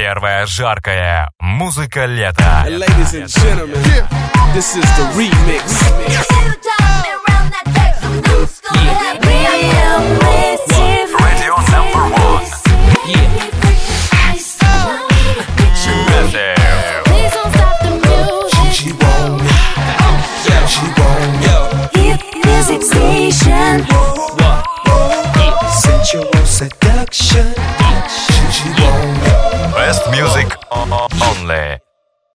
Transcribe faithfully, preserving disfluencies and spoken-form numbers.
Первая жаркая музыка лета. And ladies and gentlemen, this is the remix.